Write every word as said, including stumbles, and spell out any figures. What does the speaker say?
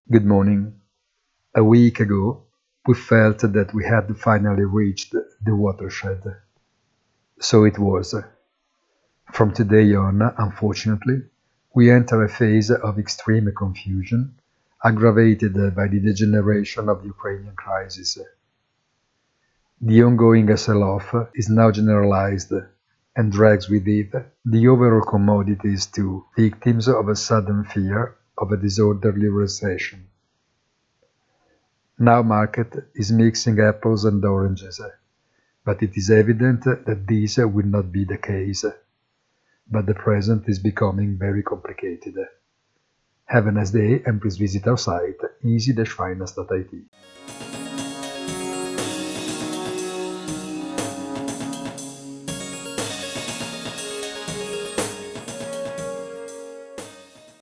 Good morning. A week ago, we felt that we had finally reached the watershed. So it was. From today on, unfortunately, we enter a phase of extreme confusion, aggravated by the degeneration of the Ukrainian crisis. The ongoing sell-off is now generalized and drags with it the overall commodities too, victims of a sudden fear of a disorderly recession. Now market is mixing apples and oranges, but it is evident that this will not be the case. But the present is becoming very complicated. Have a nice day and please visit our site easy dash finance dot I T.